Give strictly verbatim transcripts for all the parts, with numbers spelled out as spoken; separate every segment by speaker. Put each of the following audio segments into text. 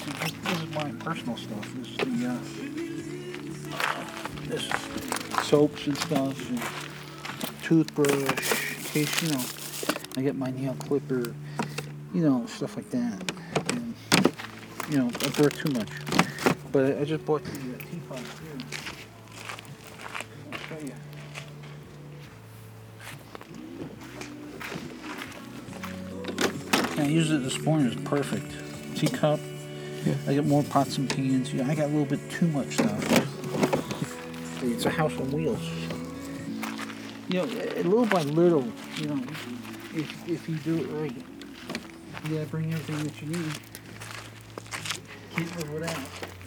Speaker 1: see, this, this is my personal stuff. This is the uh, this soaps and stuff, and toothbrush. In case you know, I get my nail clipper. You know, stuff like that. And you know, I brought too much. But I, I just bought the uh, teapot here. I'll show you. I use it this morning. It's perfect. Teacup.
Speaker 2: Yeah.
Speaker 1: I get more pots and pans. You know, I got a little bit too much stuff. It's a house on wheels. You know, little by little, you know, if, if you do it right, you gotta bring everything that you need. Can't live without.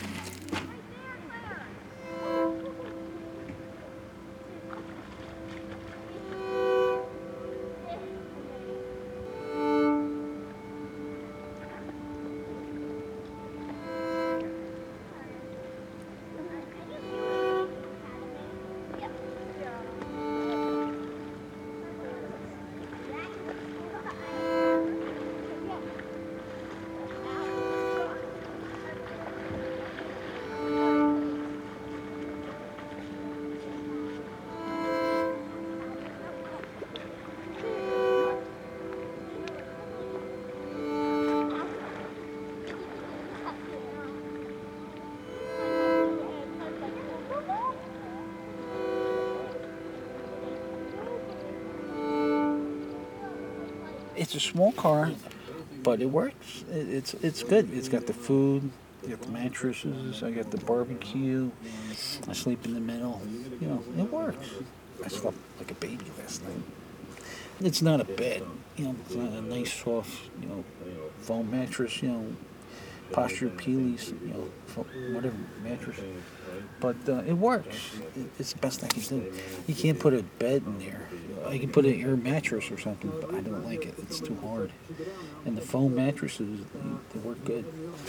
Speaker 1: It's a small car, but it works. It, it's it's good. It's got the food, you got the mattresses, I got the barbecue. I sleep in the middle. You know, it works. I slept like a baby last night. It's not a bed. You know, it's not a nice soft, you know, foam mattress. You know, posture Peely's, you know, whatever mattress. But uh, it works. It, it's the best I can do. You can't put a bed in there. I can put an air mattress or something, but I don't like it. It's too hard. And the foam mattresses, they, they work good.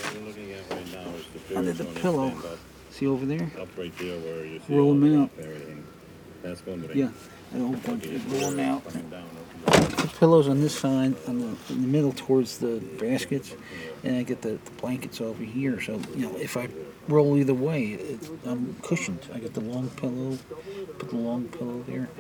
Speaker 1: Under the pillow, see over there?
Speaker 3: Up right there where you see
Speaker 1: roll them out.
Speaker 3: Everything. That's going to be.
Speaker 1: Yeah, I don't want to roll them out. The pillows on this side, on the, in the middle towards the baskets, and I get the, the blankets over here. So, you know, if I roll either way, it's, I'm cushioned. I get the long pillow, put the long pillow there.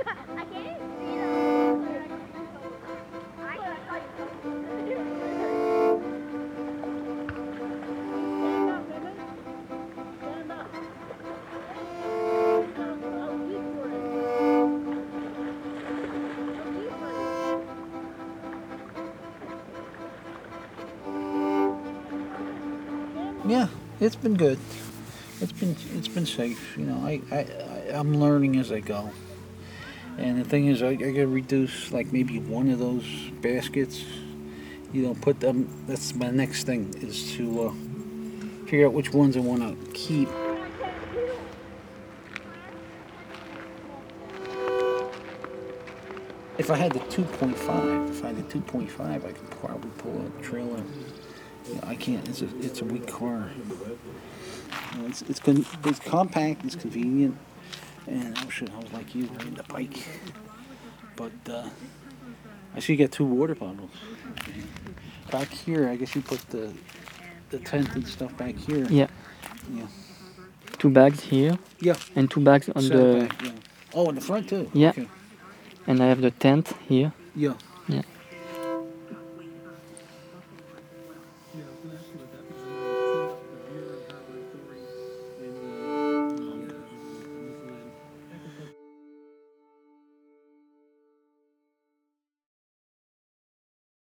Speaker 1: Yeah, it's been good. It's been it's been safe. You know, I, I, I I'm learning as I go. And the thing is, I, I gotta reduce like maybe one of those baskets. You know, put them. That's my next thing is to uh, figure out which ones I want to keep. If I had the two point five, if I had the two point five, I could probably pull a trailer. You know, I can't. It's a it's a weak car. You know, it's it's con- it's compact. It's convenient. And oh shit, I was like you riding the bike. But uh, I see you got two water bottles. Back here, I guess you put the the tent and stuff back here.
Speaker 2: Yeah.
Speaker 1: Yeah.
Speaker 2: Two bags here.
Speaker 1: Yeah.
Speaker 2: And two bags on the.
Speaker 1: Back, yeah. Oh, in the front too.
Speaker 2: Yeah.
Speaker 1: Okay.
Speaker 2: And I have the tent here.
Speaker 1: Yeah.
Speaker 2: Yeah.